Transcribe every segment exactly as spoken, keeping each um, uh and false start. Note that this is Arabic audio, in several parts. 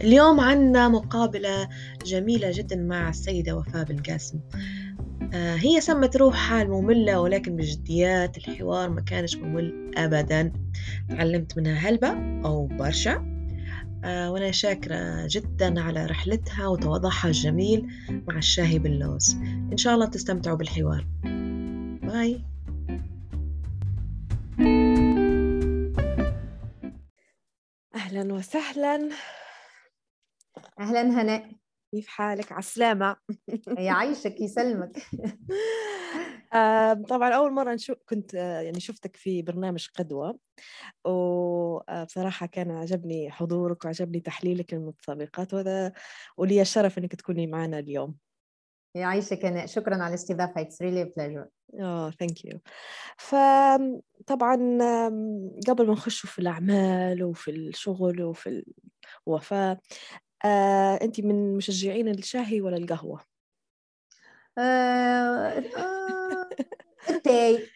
اليوم عنا مقابلة جميلة جدا مع السيدة وفاء بالقاسم. آه، هي سمت روحها المملة، ولكن بجديات الحوار ما كانش ممل أبدا. تعلمت منها هلبة أو برشا. آه، وأنا شاكرة جدا على رحلتها وتواضعها الجميل مع الشاهي باللوز. إن شاء الله تستمتعوا بالحوار. باي. أهلا وسهلا. أهلا هناء، كيف حالك؟ عسلامة. يعيشك يسلمك. آه، طبعا أول مرة نشوف كنت آه، يعني شفتك في برنامج قدوة، وبصراحة كان عجبني حضورك وعجبني تحليلك للمتسابقات، وهذا ولي الشرف أنك تكوني معنا اليوم. يعيشك هناء، شكرا على الاستضافة. It's really a pleasure. آه ثانك يو. فطبعا آم، قبل ما نخش في الأعمال وفي الشغل وفي الوفاة، آه، أنت من مشجعين الشاهي ولا القهوة؟ آه، آه، التاي.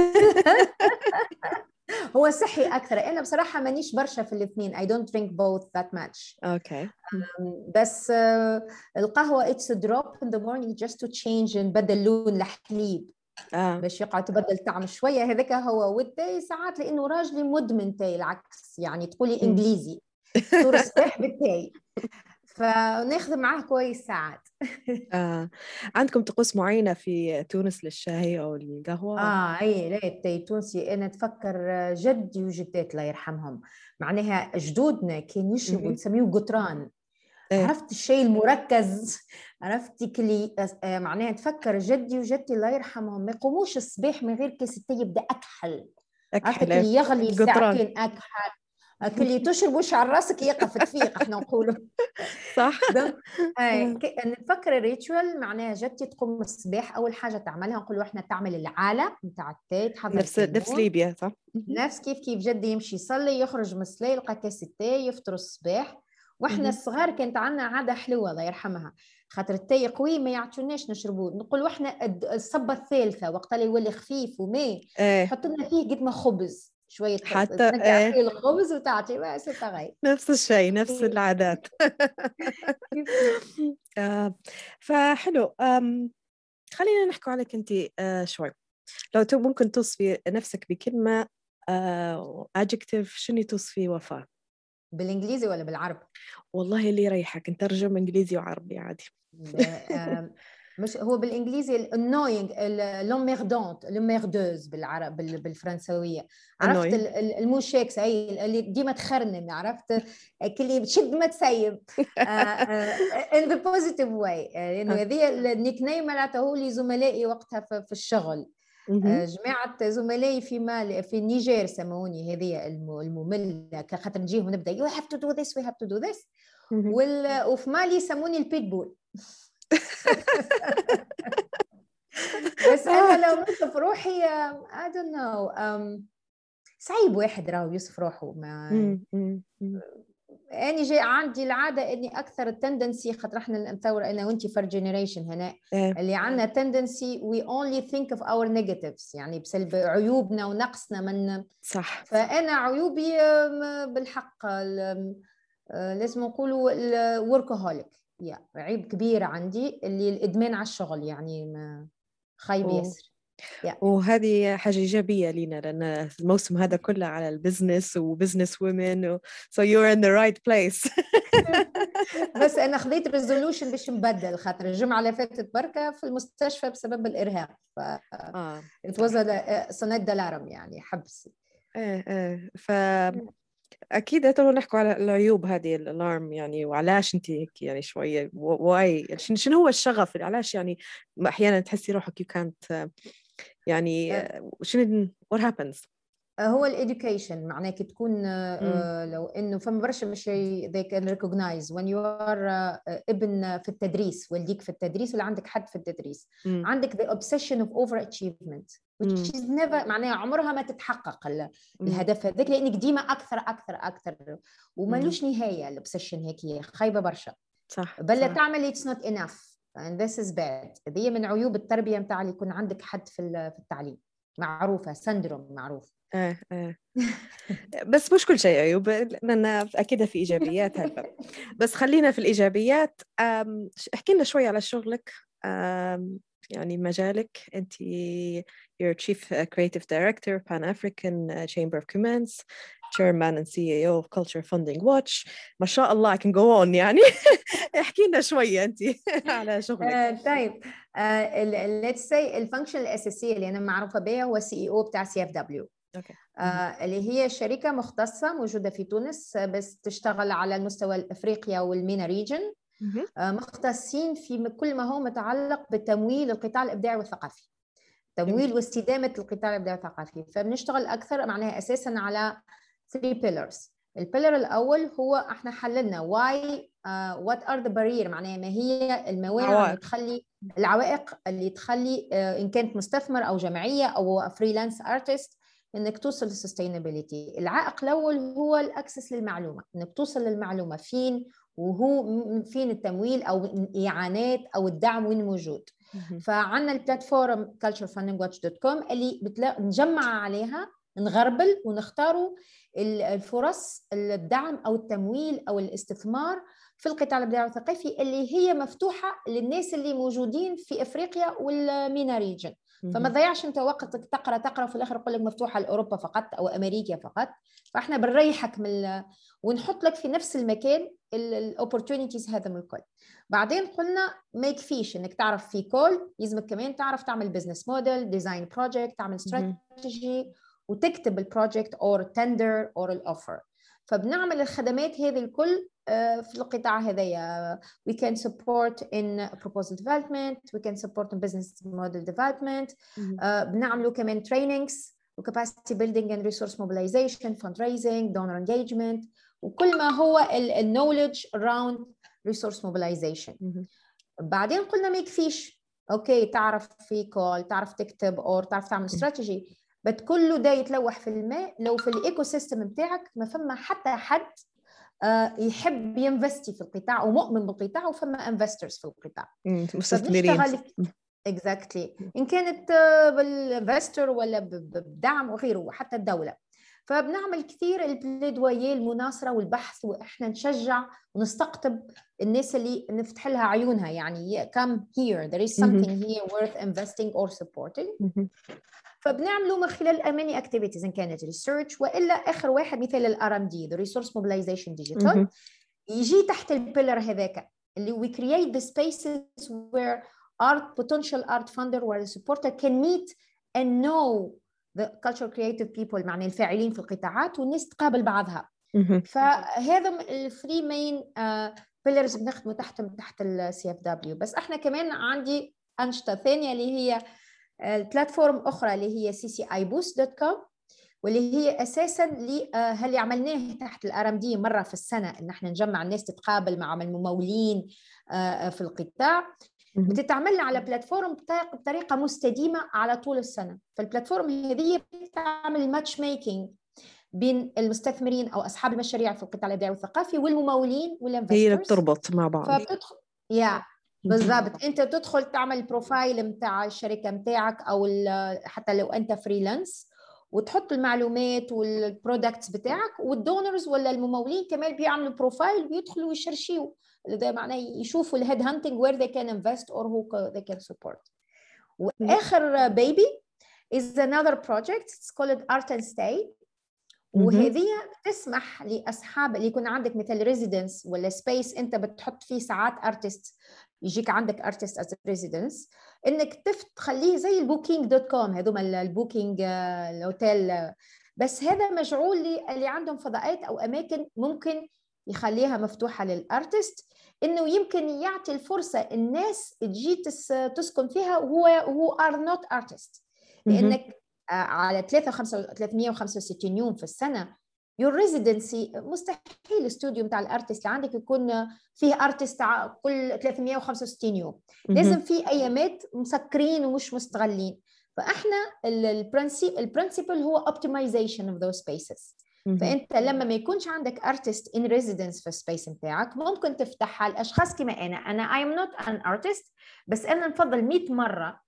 هو صحي أكثر. أنا بصراحة مانيش برشا في الاثنين. I don't drink both that much. أوكي. بس آه، القهوة it's a drop in the morning just to change، نبدل لون لحليب آه. باش يقعد تبدل طعم شوية. هذاك هو. والتاي ساعات لأنه راجلي مدمن تاي، العكس يعني تقولي مم. إنجليزي فطور الصباح بالتاي، فناخذ معاه كويس ساعات. آه. عندكم طقوس معينة في تونس للشاي أو القهوة؟ اه اي لا، التاي تونسي. انا اتفكر جدي وجدات الله يرحمهم، معناها جدودنا كان يشربوا مهم. نسميه قطران. إيه. عرفت الشيء المركز؟ عرفتي كلي آه، معناها تفكر جدي وجدتي الله يرحمهم ما يقوموش الصباح من غير كاس التاي يبدا اكحل. عرفتك أكحلة اللي يغلي القطران. ساعتين اكحل، اللي تشرب وش على راسك يقف تفيق احنا نقولوا. صح. دونك آه، آه. ك- نفكر الريتشوال معناها جدتي تقوم الصباح اول حاجه تعملها نقولوا احنا تعمل العاله نتاع التاي، تحضر نفس نفس كمون. ليبيا صح؟ مهم. نفس كيف كيف جدي يمشي يصلي يخرج من الصلاه يلقى كاس التاي يفطر الصباح. واحنا مهم. الصغار كانت عندنا عاده حلوه الله يرحمها، خاطر التاي قوي ما يعطوناش نشربوه، نقولوا احنا الد- الصبه الثالثه وقت اللي يولي خفيف وما إيه. تحط لنا فيه قد ما خبز شويه خبز، حتى تنقع إيه. فيه الخبز وتعطي بس تغير. نفس الشيء، نفس العادات. كيف كيف. آه. فحلو. آم. خلينا نحكي عليك أنت آه شوي. لو تو ممكن توصفي نفسك بكلمة آه adjective، شنو توصفي وفاء؟ بالانجليزي ولا بالعربي؟ والله اللي يريحك، نترجم إنجليزي وعربي عادي. مش هو بالانجليزي الانوينج، لوميردونت، لوميردوز بالعرب بالفرنسويه. عرفت annoying. الموشيكس اي اللي ديما تخرنم، عرفت كلي بتشد ما تسيب. ان ذا بوزيتيف واي، لانه آه. هذه النيك نيم معناتها لي زملائي وقتها في في الشغل. مهم. آه، جماعة زملائي في مال في النيجر سموني هذه الم- المملة، خاطر نجيهم نبدا you have to do this we have to do this. مهم. وال... وفي مالي يسموني البيتبول. بس آه. انا لو نوصف روحي um, I don't know um, صعيب واحد راهو يوصف روحه. ما مم. مم. مم. اني جاي عندي العاده اني اكثر التندنسي، خاطر احنا نتصور انا وانت فر جينيريشن هنا إيه. اللي عندنا تندنسي we only think of our negatives، يعني بسلب عيوبنا ونقصنا من. صح. فانا عيوبي um, بالحق ال- آه، لازم نقولوا الوركهوليك، يا عيب كبير عندي اللي الادمان على الشغل، يعني ما خايب و... ياسر. يا وهذه حاجة إيجابية لينا، لأن الموسم هذا كله على البزنس وبزنس وومن و... so you're in the right place. بس انا خذيت ريزولوشن باش نبدل، خاطر الجمعه اللي فاتت بركه في المستشفى بسبب الارهاق. ف آه it was صح. a صناد الارم يعني حبس. إيه إيه. فأكيد تو نحكوا على العيوب هذه الألارم يعني، وعلاش أنت هيك يعني شوية واي شنو شنو هو الشغف اللي علاش يعني أحيانا تحسي روحك you can't يعني شنو what happens. هو الإديوكيشن معناه كي تكون مم. آه، لو إنه فما برشا مش they can recognize when you are آه، ابن في التدريس، والديك في التدريس ولا عندك حد في التدريس، مم. عندك the obsession of overachievement which مم. is never معناها عمرها ما تتحقق ال- مم. الهدف هذاك، لأنك ديما أكثر أكثر أكثر مم. ومالوش نهاية. الأوبسيشن هيك خايبة برشا، صح بل صح. تعمل it's not enough and this is bad. هذه من عيوب التربية متاع اللي يكون عندك حد في في التعليم. معروفة سندروم معروف. آه آه. بس مش كل شيء عيوب، لأن أكيد في إيجابيات هالباب. بس خلينا في الإيجابيات. احكي لنا شوي على شغلك، يعني مجالك. أنت you're Chief Creative Director Pan African Chamber of Commerce, Chairman and سي إي أو of Culture Funding Watch. ما شاء الله I can go on يعني. احكي لنا شوي أنت على شغلك. uh, طيب uh, let's say الفانكشن الأساسية اللي أنا معروفة بها هو سي إي أو بتاع سي إف دبليو. أوكي. آه اللي هي شركة مختصة موجودة في تونس، بس تشتغل على المستوى الأفريقيا والمينا ريجن. آه مختصين في كل ما هو متعلق بتمويل القطاع الإبداعي والثقافي، تمويل واستدامة القطاع الإبداعي والثقافي. فبنشتغل أكثر معناها أساساً على three pillars. البيلر الأول هو إحنا حللنا why uh, what are the barrier، معناها ما هي الموانع اللي تخلي العوائق اللي تخلي uh, إن كانت مستثمر أو جمعية أو فريلانس ارتست انك توصل للسستينابيليتي. العائق الاول هو الاكسس للمعلومه، انك توصل للمعلومه فين، وهو فين التمويل او الاعانات او الدعم وين موجود. فعندنا البلاتفورم كلتشر فاندنج واتش دوت كوم اللي نجمع عليها، نغربل ونختاروا الفرص الدعم او التمويل او الاستثمار في القطاع الابداعي والثقافي اللي هي مفتوحه للناس اللي موجودين في افريقيا والمينا ريجن. فما تضيعش انت وقتك تقرا تقرا وفي الاخر يقول لك مفتوحه لاوروبا فقط او امريكا فقط. فاحنا بنريحك من ونحط لك في نفس المكان الاوبورتونيتيز هذا من الكل. بعدين قلنا ما يكفيش انك تعرف في كول، لازمك كمان تعرف تعمل بزنس موديل، ديزاين بروجكت، تعمل استراتيجي وتكتب البروجكت اور تندر اور الاوفر. فبنعمل الخدمات هذه الكل في القطاع هذايا. we can support in proposal development, we can support in business model development. uh, بنعملوا كمان trainings و capacity building and resource mobilization, fundraising, donor engagement وكل ما هو ال knowledge around resource mobilization. بعدين قلنا ما يكفيش اوكي تعرف في كول، تعرف تكتب او تعرف تعمل استراتيجي، بس كله ده يتلوح في الماء لو في الايكو سيستم بتاعك ما فما حتى حد يحب ينفستي في القطاع ومؤمن بالقطاع وفما انفسترز في القطاع. مستثمرين. اكزاكتلي exactly. ان كانت بالانفستر ولا بدعم وغيره وحتى الدوله. فبنعمل كثير البليدوية المناصرة والبحث، واحنا نشجع ونستقطب الناس اللي نفتح لها عيونها، يعني come here there is something here worth investing or supporting. فبنعمله من خلال many activities إن كانت research وإلا آخر واحد مثال ال آر إم دي the Resource Mobilization Digital يجي تحت البيلر هذاك اللي we create the spaces where art potential art funder or supporter can meet and know the cultural creative people معنى الفاعلين في القطاعات والناس تقابل بعضها. فهذا الثري مين بيلرز بنخدمه تحت تحت السي اف دبليو. بس احنا كمان عندي أنشطة ثانية اللي هي البلاتفورم أخرى اللي هي سي سي آي بوست دوت كوم واللي هي أساساً اللي عملناه تحت الآر إم دي مرة في السنة إن احنا نجمع الناس تتقابل مع الممولين في القطاع. بتتعمل على بلاتفورم بطريقة مستديمة على طول السنة. فالبلاتفورم هذه بتعمل ماتش ميكينج بين المستثمرين أو أصحاب المشاريع في القطاع الإبداعي والثقافي والممولين والانفسترز. هي بتربط مع بعض. فبتدخل يا بالضبط انت تدخل تعمل بروفايل متاع الشركه متاعك او حتى لو انت فريلانس وتحط المعلومات والبرودكتس بتاعك، والدونرز ولا الممولين كمان بيعملوا بروفايل ويدخلوا ويشرشيوا، ده معناه يشوفوا الهيد هانتنج where they can invest or who they can support. واخر بيبي is another project it's called art and stay. وهذه تسمح لاصحاب اللي يكون عندك مثل ريزيدنس ولا سبيس انت بتحط فيه ساعات ارتست، يجيك عندك ارتست از ريزيدنس، انك تخليه زي البوكينج دوت كوم هذوما البوكينج الاوتيل، بس هذا مجعول اللي عندهم فضاءات او اماكن ممكن يخليها مفتوحه للارتست انه يمكن يعطي الفرصه الناس تجي تسكن فيها وهو هو ار نوت ارتست، لانك على ثلاثمية وخمسة وستين يوم في السنة your residency مستحيل الاستوديو بتاع الارتست اللي عندك يكون فيه ارتست كل ثلاثمية وخمسة وستين يوم. لازم في ايامات مسكرين ومش مستغلين. فاحنا البرنسيب البرنسيبل هو optimization of those spaces. فانت لما ما يكونش عندك artist in residence في السبيس بتاعك ممكن تفتحها لاشخاص كما انا انا I'm not an artist بس انا نفضل مئة مرة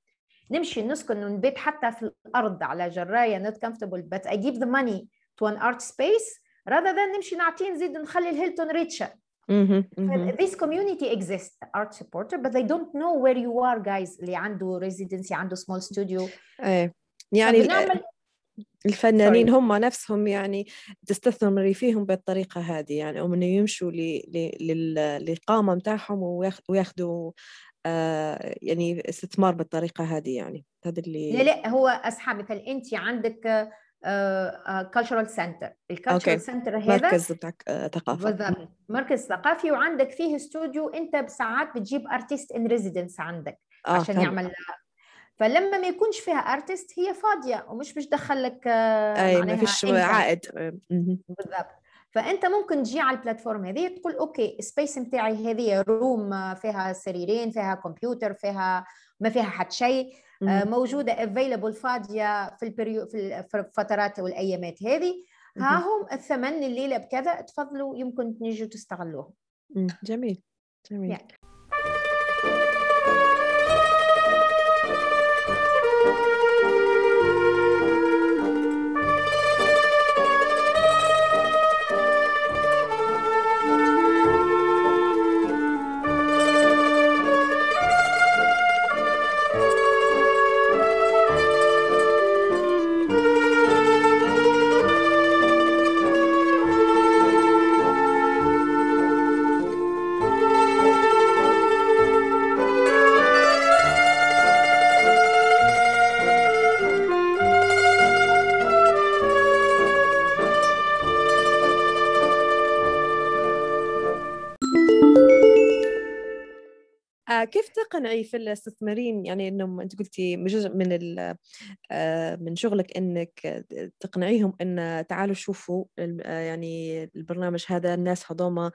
نمشي نسكن ونبيت حتى في الأرض على جراية not comfortable but I give the money to an art space rather than نمشي نعطيه نزيد نخلي الهيلتون ريتشا. This community exists, art supporter, but they don't know where you are guys. اللي عنده residency عنده small studio. ايه يعني فبنعمل الفنانين هم نفسهم يعني تستثمري فيهم بالطريقة هذه يعني أو إنه يمشوا للإقامة متاعهم وياخدوا آه يعني استثمار بالطريقة هذه يعني هذا اللي لا لا هو أصحاب مثل أنت عندك cultural center الكالتشرال سنتر هذا مركز بتاع ثقافة بالضبط مركز ثقافي وعندك فيه استوديو أنت بساعات بتجيب ارتست ان ريزيدنس عندك آه عشان فهم. يعمل فلما ما يكونش فيها ارتست هي فاضيه ومش باش تدخل لك اي ما فيش عائد بالضبط. فانت ممكن تجي على البلاتفورم هذه تقول اوكي السبيس نتاعي هذه روم فيها سريرين فيها كمبيوتر فيها ما فيها حتى شيء موجوده افيلبل فاضيه في البريو في الفترات والايامات هذه ها هم الثمن الليله بكذا تفضلوا يمكن تنجوا تستغلوه. جميل جميل yeah. كيف تقنعي في الاستثمارين يعني انهم انت قلتي جزء من من شغلك انك تقنعيهم ان تعالوا شوفوا يعني البرنامج هذا الناس هذوما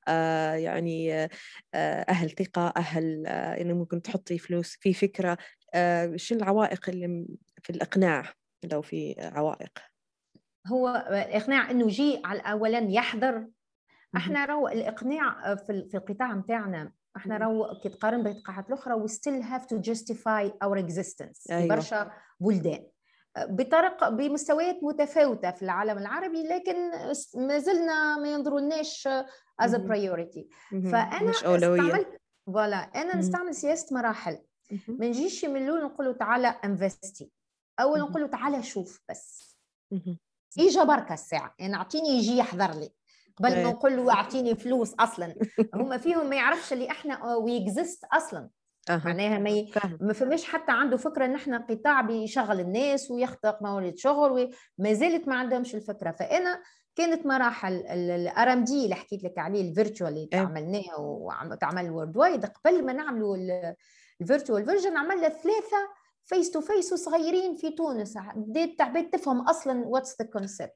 يعني اهل ثقة اهل انه ممكن تحطي فلوس في فكرة شو العوائق اللي في الاقناع لو في عوائق؟ هو الاقناع انه يجي على اولا يحضر. احنا رو الاقناع في في القطاع متاعنا احنا راهو كي تقارن بالقطاعات الاخرى we still have to justify our existence. أيوة. برشا بلدان بطرق بمستويات متفاوته في العالم العربي لكن ما زلنا ما ينظروناش as a priority. فانا استعملت فوالا انا نستعمل سياسه مراحل. ما نجيش من الاول نقول له تعالى انفستي اول نقول له تعالى شوف بس اجا بركه الساعه يعني اعطيني يجي يحضر لي قبل ما نقول له اعطيني فلوس اصلا. هم فيهم ما يعرفش اللي احنا وي اكزيست اصلا. أه. معناها ما ي... ما فماش حتى عنده فكره ان احنا قطاع بيشغل الناس ويخلق موارد شغل وما زالت ما عندهمش الفكره. فانا كانت مراحل الار ام دي اللي حكيت لك عليه الفيرتشوال اللي تعملناه وتعمل وورد وايد قبل ما نعملوا الفيرتشوال فيرجن عملنا ثلاثه فيس تو فيس وصغيرين في تونس بديت تعبت تفهم اصلا واتس ذا كونسبت.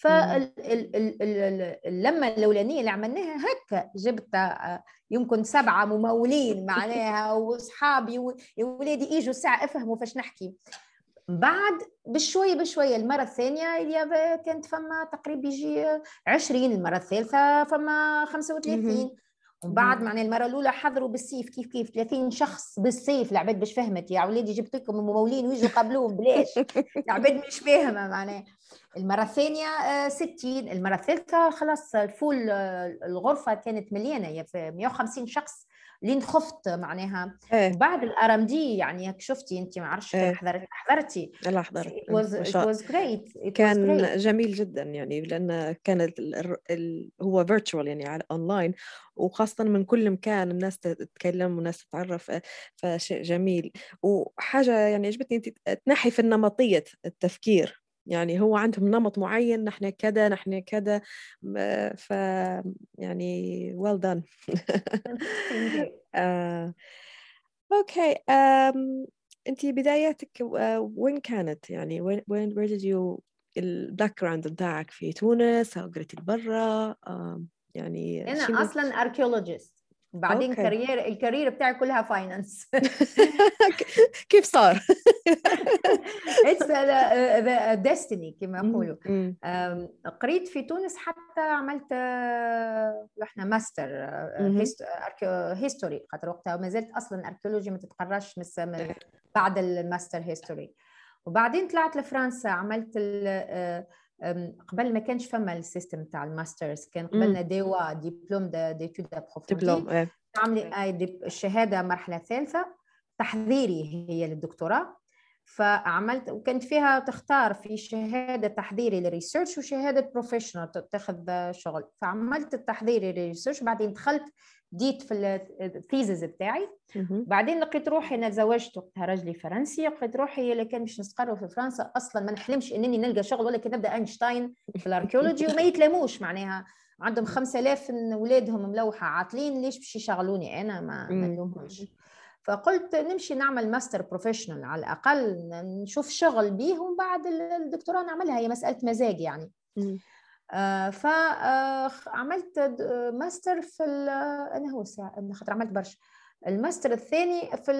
فاللمه الاولانيه اللي عملناها هكا جبت يمكن سبعه ممولين معناها واصحابي يا ولادي اجوا ساعه افهموا فاش نحكي. بعد بشويه بشويه المره الثانيه اللي كانت فما تقريبا يجي عشرين المره الثالثه فما خمسة وثلاثين وبعد معناها المره الاولى حضروا بالسيف كيف كيف ثلاثين شخص بالسيف. العباد مش فهمت يا ولادي جبت لكم ممولين ويجوا قبلوهم بلاش. العباد مش فاهمه معناها. المره الثانيه ستين المره الثالثه خلاص الفول الغرفه كانت مليانه في مئة وخمسين شخص لين خفت معناها. إيه. بعد الار ام دي يعني شفتي انت ما عرفتش إيه. حضرت حضرتي لا حضرت it was, it was great it كان was great. جميل جدا يعني لان كان ال ال هو فيرتشوال يعني على اونلاين وخاصه من كل مكان الناس تتكلم والناس تتعرف فشيء جميل. وحاجه يعني عجبتني انت تنحي في النمطيه التفكير يعني هو عندهم نمط معين نحن كذا نحن كذا ف يعني well done. آه. اوكي um, انت بداياتك وين كانت يعني وين وين where did you الباك جراوند بتاعك في تونس او قريتي برا uh, يعني انا اصلا اركيولوجيست بعدين كارير الكارير بتاعي كلها فاينانس. كيف صار it's the, the destiny كما يقولوا. قريت في تونس حتى عملت احنا ماستر هيستوري، خاطر وقتها ما زلت اصلا اركيولوجي ما تتقراش من بعد الماستر هيستوري. وبعدين طلعت لفرنسا عملت قبل ما كانش فما السيستم تاع الماسترز، كان قبلنا ديوا ديبلوم ديتود ابروفوندي، عملي الشهاده مرحله ثالثه تحضيري هي للدكتوراه. فعملت وكانت فيها تختار في شهاده تحضيري للريسيرش وشهاده بروفيشنال تاخذ شغل. فعملت التحضيري للريسيرش، بعدين دخلت ديت في الثيزز بتاعي. بعدين لقيت روحي انا تزوجت وقتها رجلي فرنسي، لقيت روحي اللي كان باش نستقر في فرنسا اصلا ما نحلمش انني نلقى شغل ولا كي نبدا اينشتاين في الاركيولوجي، وما يتلاموش معناها عندهم خمسة آلاف اولادهم ملوحه عاطلين، ليش باش يشغلوني انا؟ ما نلومهمش. فقلت نمشي نعمل ماستر بروفيشنال على الاقل نشوف شغل بيه، ومن بعد الدكتوراه نعملها، هي مساله مزاج يعني. آه فعملت آه ماستر في انا هو ساعه خاطر عملت برشا. الماستر الثاني في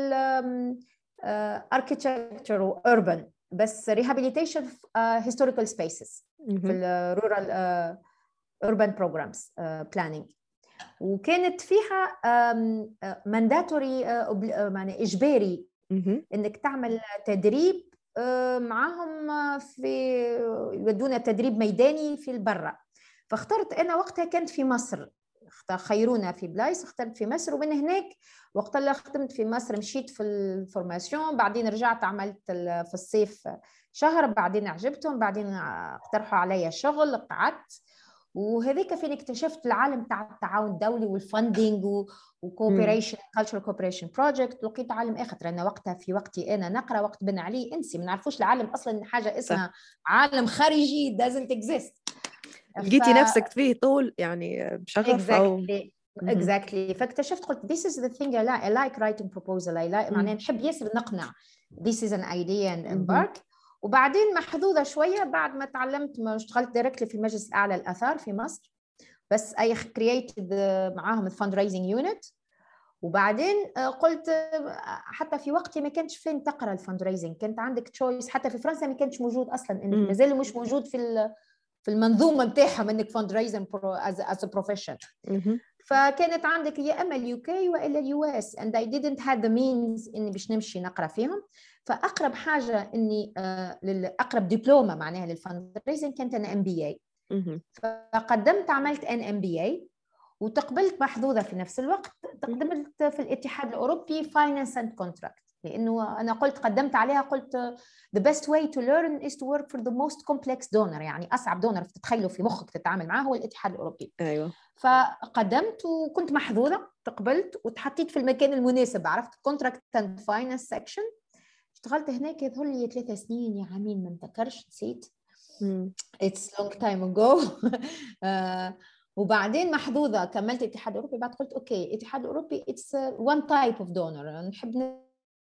الاركيتكتشر واربن، بس ريهابيليتيشن هيستوريكال سبيسز في الرورال urban programs بلانينج. وكانت فيها مانداتوري معنى اجباري انك تعمل تدريب معاهم، في يودونا تدريب ميداني في البرة. فاخترت انا وقتها كانت في مصر، خيرونا في بلايص، اخترت في مصر. ومن هناك وقت اللي خدمت في مصر مشيت في الفورماسيون، بعدين رجعت عملت في الصيف شهر، بعدين عجبتهم، بعدين اقترحوا علي شغل، قعدت. وهذيك فين اكتشفت العالم تاع التعاون الدولي والفاندينج وكوبريشن كالتشرال كوبريشن بروجكت. لقيت عالم اخر، انا وقتها في وقتي انا نقرا، وقت بن علي انسي ما نعرفوش العالم اصلا حاجه اسمها صح. عالم خارجي doesn't exist. لقيتي ف... نفسك فيه طول يعني بشغف exactly. او exactly. فاكتشفت قلت this is the thing I like, I like writing proposal I like معناها نحب ياسر نقنع this is an idea and embark. وبعدين محظوظه شويه بعد ما تعلمت، ما اشتغلت دايركتلي في المجلس الاعلى للاثار في مصر، بس اي كرييتد معاهم الفند رايزنج يونت. وبعدين قلت حتى في وقتي ما كانش فين تقرا الفند رايزنج، كانت عندك تشويس، حتى في فرنسا ما كانش موجود اصلا، انك مازال مش موجود في في المنظومه نتاعهم انك فند رايزنج از بروفيشن. فكانت عندك يا اما اليو كي والا اليو اس and I didn't have the means اني باش نمشي نقرا فيهم. فاقرب حاجه اني آه اقرب دبلومه معناها للفند رايزنج كانت انا ام بي اي. فقدمت عملت ان ام بي اي وتقبلت، محظوظه في نفس الوقت تقدمت في الاتحاد الاوروبي فاينانس اند كونتراكت، لانه انا قلت قدمت عليها قلت the best way to learn is to work for the most complex donor، يعني اصعب دونر تتخيلوا في مخك تتعامل معاه هو الاتحاد الاوروبي. ايوه. فقدمت وكنت محظوظه، تقبلت وتحطيت في المكان المناسب، عرفت كونتراكت اند فاينانس سكشن. اشتغلت هناك يظهر لي ثلاثة سنين يا عامين ما نتذكرش، نسيت. It's long time ago. uh, وبعدين محظوظه كملت الاتحاد الاوروبي. بعد قلت اوكي الاتحاد الاوروبي it's one type of donor، نحب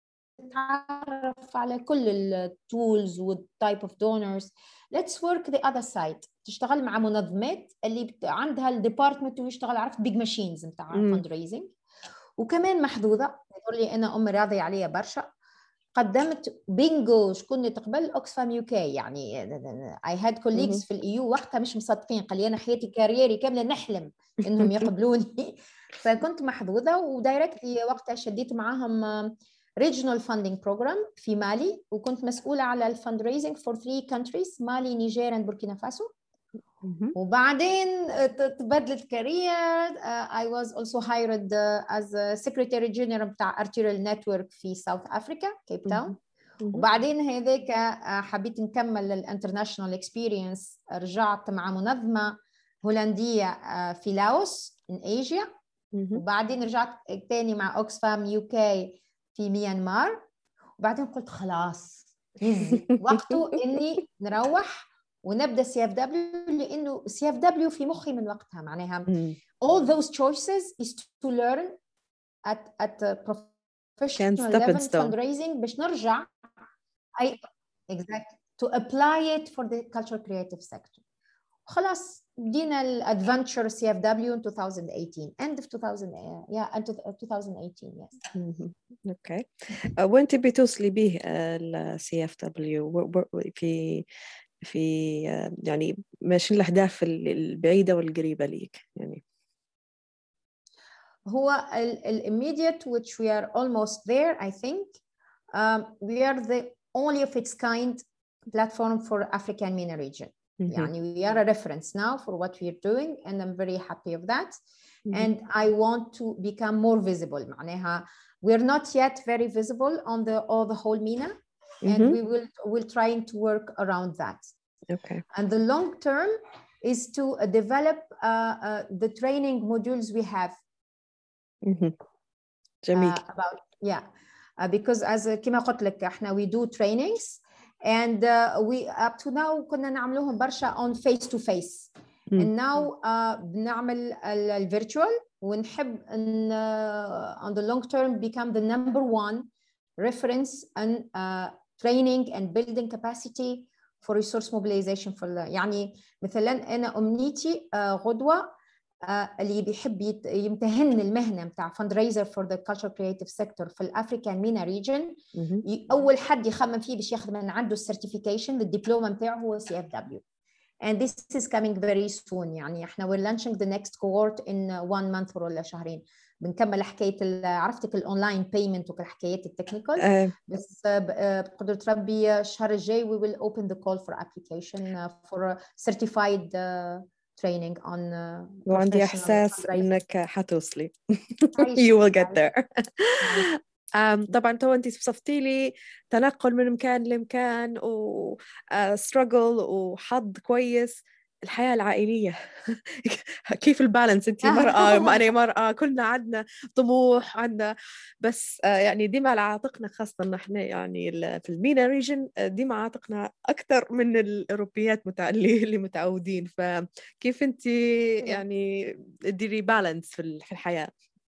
نتعرف على كل التولز والتايب اوف دونرز. let's work the other side. تشتغل مع منظمات اللي عندها الديبارتمنت ويشتغل عرفت بيج ماشينز نتاع فند ريزنج. وكمان محظوظه يقول لي انا امي راضيه عليا برشا، قدمت بينجو شكون اللي تقبل اوكسفام يو كي، يعني اي هاد كوليجز في الايو وقتها مش مصدقين، قال لي انا حياتي كاريري كامله نحلم انهم يقبلوني. فكنت محظوظه ودايركتلي وقتها شديت معاهم regional funding program في مالي، وكنت مسؤوله على الفند ريزنج فور ثري countries مالي نيجير اند بوركينا فاسو. وبعدين تبدلت كارير. uh, I was also hired uh, as a secretary general بتاع arterial network في South Africa كيب تاون. وبعدين هذاك حبيت نكمل الانترناشونال اكسبيرينس، رجعت مع منظمه هولنديه في لاوس in Asia. وبعدين رجعت تاني مع اوكسفام يو كي في ميانمار. وبعدين قلت خلاص يزي وقته اني نروح ونبدا سي اف دبليو، لانه سي اف دبليو في مخي من وقتها معناها all those choices is to learn at at professional level fundraising باش نرجع I exactly to apply it for the cultural creative sector. خلاص بدينا الادفنتشر سي اف دبليو in twenty eighteen end of two thousand yeah and twenty eighteen yes. اوكي. وين تبي توصلي به السي اف دبليو في في يعني ماشي الأهداف البعيدة والقريبة ليك يعني؟ هو ال immediate which we are almost there I think. um, we are the only of its kind platform for African MENA region. Mm-hmm. يعني we are a reference now for what we are doing and I'm very happy of that. Mm-hmm. And I want to become more visible. معناها we are not yet very visible on the all the whole MENA. Mm-hmm. And we will will trying to work around that. Okay. And the long term is to uh, develop uh, uh, the training modules we have. Mm-hmm. جميل. Uh, about yeah, uh, because as كما قلت لك احنا we do trainings and uh, we up to now كنا نعملوهم برشا on face to face. Mm. And now uh, بنعمل ال virtual ونحب ان uh, on the long term become the number one reference and uh, training and building capacity for resource mobilization for يعني مثلا أنا أمنيتي غدوة اللي بيحب يمتهن المهنة متاع fundraiser for the cultural creative sector في الأفريكان مينا region. أول حد يخمم فيه باش ياخذ من عنده certification الدبلومة متاعه هو سي إف دبليو. And this is coming very soon. يعني احنا we're launching the next cohort in one month ولا شهرين. بنكمل حكايه عرفتك الاونلاين بيمنت وكل حكايات التكنيكال أه. بس بقدره ربي الشهر الجاي we will open the call for application for certified training on وعندي احساس انك حتوصلي you will get there. طبعا تو انت وصفتي لي تنقل من مكان لمكان و struggle وحظ كويس. الحياة العائلية كيف البالانس؟ انت مرأة انا مرأة كلنا عندنا طموح عندنا بس يعني ديما على عاتقنا خاصة نحن يعني في المينا ريجن ديما عاتقنا أكثر من الأوروبيات متع... اللي متعودين. فكيف انت يعني تديري بالانس في الحياة؟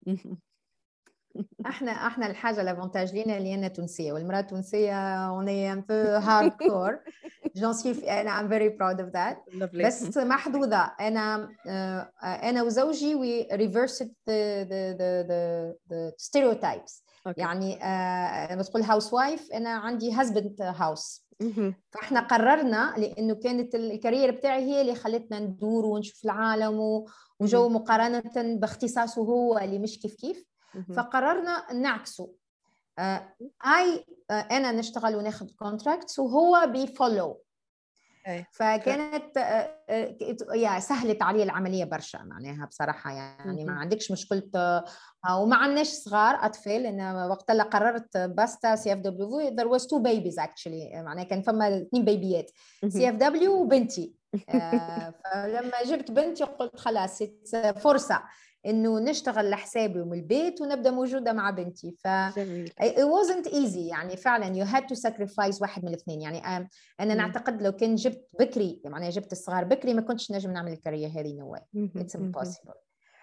احنا احنا الحاجه الافونتاج لينا اللي انا تونسيه والمراه التونسيه اوني ان بو هارد كور جون سي انا ام فيري براود اوف ذات بس محظوظه. انا انا وزوجي وي ريفرسد ذا ذا ذا ذا ستيريوتايبس. يعني انا بتقول هاوس وايف انا عندي هازبند هاوس. فاحنا قررنا لانه كانت الكارير بتاعي هي اللي خلتنا ندور ونشوف العالم وجو مقارنه باختصاصه هو اللي مش كيف كيف. فقررنا نعكسه. اي انا نشتغل وناخذ كونتراكتس وهو بيفولو. فكانت يا سهلت علي العمليه برشا معناها بصراحه. يعني ما عندكش مشكله وما عندناش صغار اطفال. انا وقت اللي قررت باستا سي اف دبليو there was two babies actually. معناها كان فما اثنين بيبيات سي اف دبليو وبنتي. فلما جبت بنتي قلت خلاص فرصه انه نشتغل لحسابي ومن البيت ونبدا موجوده مع بنتي. ف it wasn't easy يعني فعلا you had to sacrifice واحد من الاثنين. يعني انا م. نعتقد لو كان جبت بكري معناها جبت الصغار بكري ما كنتش نجم نعمل الكارير هذه no way. it's impossible.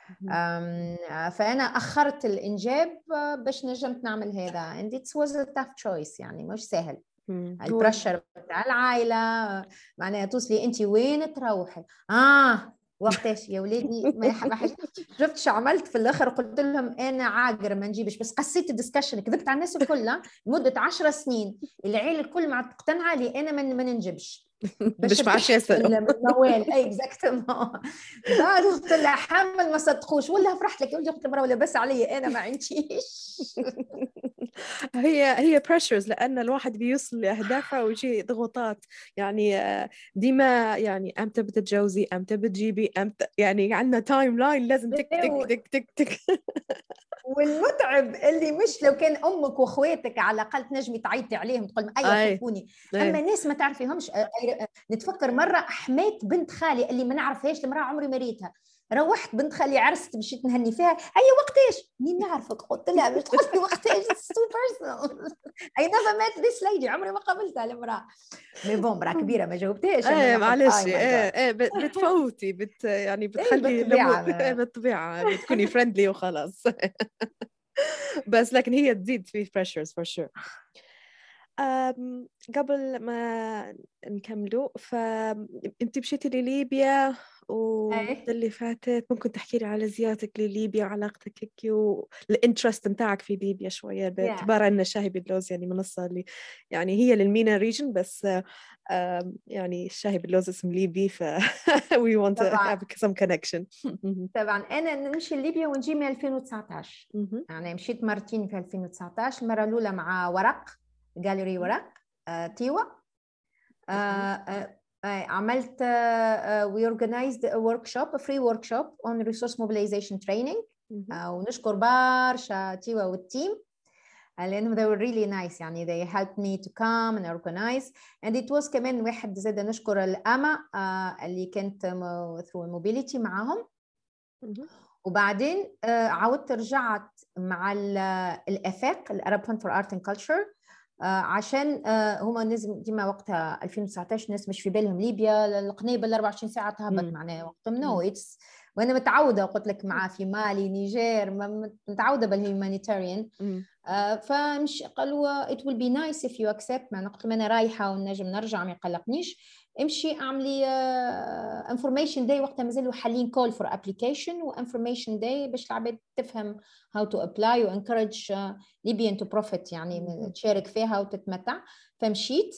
فانا اخرت الانجاب باش نجمت نعمل هذا and it was a tough choice. يعني مش سهل. البريشر بتاع العائله معناها توصلي انت وين تروحي اه وقتاش يا ولادي ما حاجه. شفت شو عملت في الاخر؟ قلت لهم انا عاجر ما نجيبش بس قصيت الدسكشن كذبت على الناس الكل لمده عشر سنين. العيله الكل ما تقتنع لي انا ما ننجبش باش ما عادش يسالوا الموال. اي اكزاكتومون. بعد قلت لها حمل ما صدقوش ولا فرحت لك يا ولدي. قلت لها ولا بس علي انا ما عنديش. هي هي بريشرز لان الواحد بيوصل لاهدافه ويجي ضغوطات. يعني ديما يعني امتى بتتجوزي امتى بتجيبي امتى يعني عندنا تايم لاين لازم تك تك تك تك تك. والمتعب اللي مش لو كان امك واخواتك على الاقل تنجمي تعيطي عليهم تقول ايوه شوفوني. اما ناس ما تعرفيهمش. نتفكر مره حماة بنت خالي اللي ما نعرفهاش المراه عمري ما ريتها. روحت بنت خالي عرست مشيت نهني فيها اي وقتاش مين نعرفك قلت لها مش تقول لي وقتاش سو بيرسونال اي نيفر ميت ذيس ليدي عمري ما قابلتها المراه مي بون مراه كبيره ما جاوبتهاش. ايه معلش ايه ايه بتفوتي بت يعني بتخلي بالطبيعه بتكوني فريندلي وخلاص. بس لكن هي تزيد في pressures for sure. أم، قبل ما نكملوا، فأنت مشيتي لليبيا والمدة اللي فاتت، ممكن تحكي لي على زيارتك لليبيا وعلاقتك هيك والانترست متاعك في ليبيا شوية، باعتبار أن شاهي باللوز يعني منصة اللي يعني هي للمينا ريجن، بس أم، يعني شاهي باللوز اسم ليبي، ف we want to طبعا have some connection. طبعا انا نمشي لليبيا ونجي من ألفين وتسعطاش. مهم. يعني مشيت مرتين في ألفين وتسعطاش. المره الاولى مع ورق جاليري ورق آه، تيوا. آه، آه، آه، عملت آه، we organized a workshop a free workshop on resource mobilization training. مهم. آه، ونشكر برشا تيوا والتيم لأنهم they were really nice. يعني they helped me to come and organize and it was كمان واحد زاد نشكر الأما آه، اللي كانت م- through mobility معاهم. مهم. وبعدين آه، عودت رجعت مع ال- الآفاق الأرب فند فور آرت اند كلتشر عشان آه، هما نزم ديما وقتها ألفين وتسعطاش الناس مش في بالهم ليبيا القنيبل أربعة وعشرين ساعة تهبط مم. معناها وقتهم نو مم. اتس. وانا متعوده قلت لك معاه في مالي نيجير ما- متعوده بالهيومانيتاريان. مم. آه، فمش قالوا it will be nice if you accept. ما قلت لهم انا رايحه ونجم نرجع ما يقلقنيش. امشي اعملي uh, information day. وقتها مازالوا حالين call for application و information day باش العباد تفهم how to apply و encourage uh, Libyan to profit يعني مم. تشارك فيها وتتمتع. فمشيت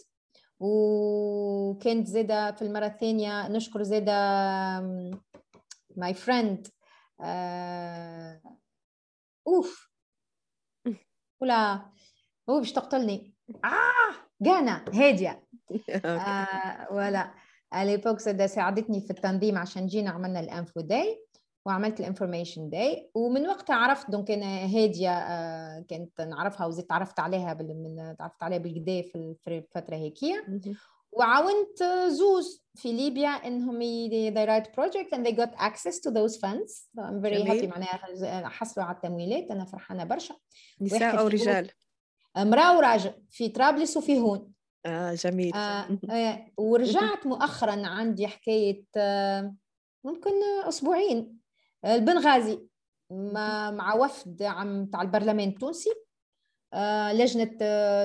وكانت زاده في المره الثانيه نشكر زاده um, my friend uh, اوف ولا هو باش تقتلني. اه جانا هاديه. آه ولا اليبوك سدا ساعدتني في التنظيم عشان جينا عملنا الانفو داي وعملت الانفورميشن داي. ومن وقتها عرفت دونك انا هاديه آه كنت نعرفها وزيد تعرفت عليها بال من تعرفت عليها بالقدا في الفتره هيكيه. مهم. وعاونت زوز في ليبيا انهم ي- they write project and they got access to those funds. So I'm very جميل. happy معناها حصلوا على التمويلات. انا فرحانه برشا. نساء واحد أو في هون رجال؟ امراه وراجل في طرابلس وفي هون. آه جميل. آه مهم. آه ورجعت مؤخرا عندي حكايه آه ممكن أسبوعين آه البنغازي مع, مع وفد عم تاع البرلمان التونسي. آه لجنة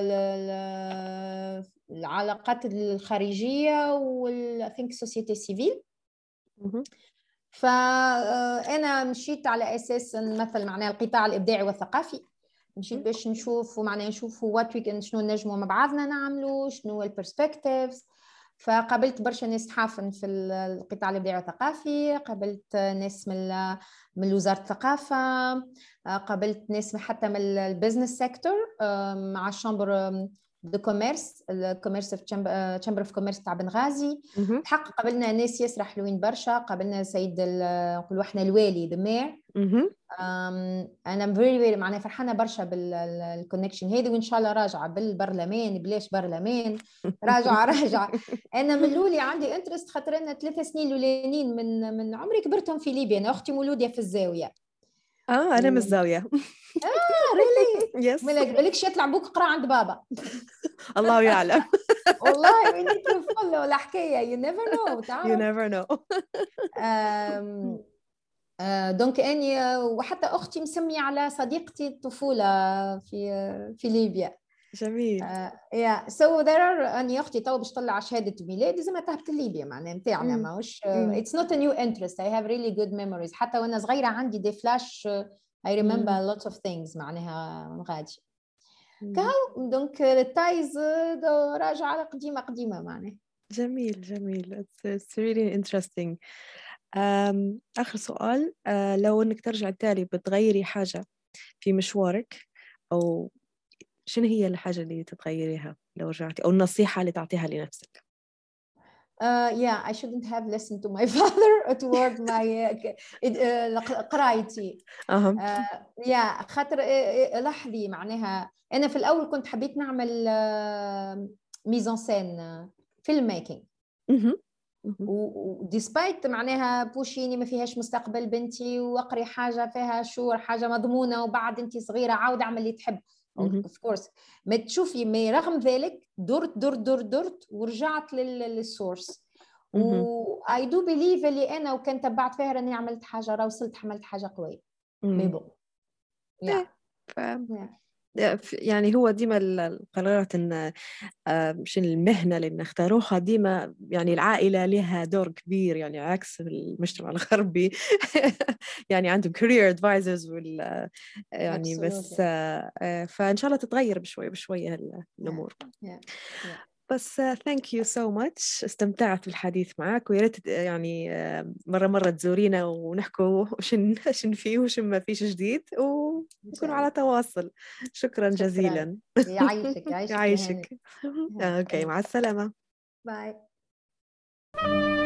آه العلاقات الخارجية وال think society civil. مهم. فأنا مشيت على أساس نمثل معناها القطاع الإبداعي والثقافي. مشيت باش نشوف ومعناها نشوفوا وات وي شنو نجموا مع بعضنا نعملوا شنو البرسبكتيفز. فقابلت برشا ناس تحافن في القطاع الابداعي والثقافي. قابلت ناس من من وزاره الثقافه. قابلت ناس حتى من البزنس سيكتور مع الشامبر دو كوميرس الكوميرس في تشامبر اوف كوميرس تاع بنغازي. مهم. الحق قابلنا ناس ياسر حلوين برشا. قابلنا سيد نقولوا احنا الوالي ذا مير. مهم. انا فيري فيري معناها فرحانه برشا بالكونكشن هذه. وان شاء الله راجعه بالبرلمان بلاش برلمان راجعه راجعه. انا من الاولي عندي انترست خاطر انا ثلاث سنين الاولانيين من من عمري كبرتهم في ليبيا. انا اختي مولوده في الزاويه. اه انا من الزاويه. اه ريلي يس ما بالكش يطلع بوك قرا عند بابا. الله يعلم. والله وين تفل ولا حكايه يو نيفر نو you تعرف. never know. دونك اني وحتى اختي مسميه على صديقتي الطفوله في في ليبيا. جميل. يا سو ذير ار اني اختي تو باش تطلع شهاده ميلاد لازم تهبط ليبيا معناها نتاعنا مم. ماهوش مم. اتس نوت ا نيو انترست. اي هاف ريلي جود ميموريز. حتى وانا صغيره عندي دي فلاش اي ريمبر مم. لوتس اوف ثينجز معناها من غادي مم. كاو. دونك التايز راجعه قديمه قديمه معناها. جميل جميل. it's, it's really interesting. um, آخر سؤال، uh, لو إنك ترجع تالي بتغيري حاجة في مشوارك، أو شنو هي الحاجة اللي تتغيريها لو رجعتي، أو النصيحة اللي تعطيها لنفسك؟ Uh, yeah, I shouldn't have listened to my father toward my uh, قرايتي. أهم. uh, yeah, خاطر لاحظي معناها أنا في الأول كنت حبيت نعمل ميزان سين فيلم ميكينج. وديسبايت معناها بوشيني ما فيهاش مستقبل بنتي وأقري حاجة فيها شور حاجة مضمونة وبعد أنت صغيرة عاود أعمل اللي تحب. of course ما تشوفي ما رغم ذلك درت درت درت درت ورجعت للسورس. و I do believe اللي أنا وكان تبعت فيها راني عملت حاجة راه وصلت عملت حاجة قوية. مي بون. yeah. يعني هو ديما القرارات إن مش المهنة اللي نختاروها ديما يعني العائلة لها دور كبير، يعني عكس المجتمع الغربي يعني عندهم career advisors وال يعني بس فإن شاء الله تتغير بشوي بشوي الأمور. yeah. Yeah. Yeah. بس thank you so much، استمتعت بالحديث معك، ويا ريت يعني مرة مرة تزورينا ونحكوا شن شن فيه وشن ما فيش جديد ونكونوا على تواصل. شكرا, شكرا. جزيلا. يعيشك يعيشك. يعيشك. اوكي، مع السلامة. باي.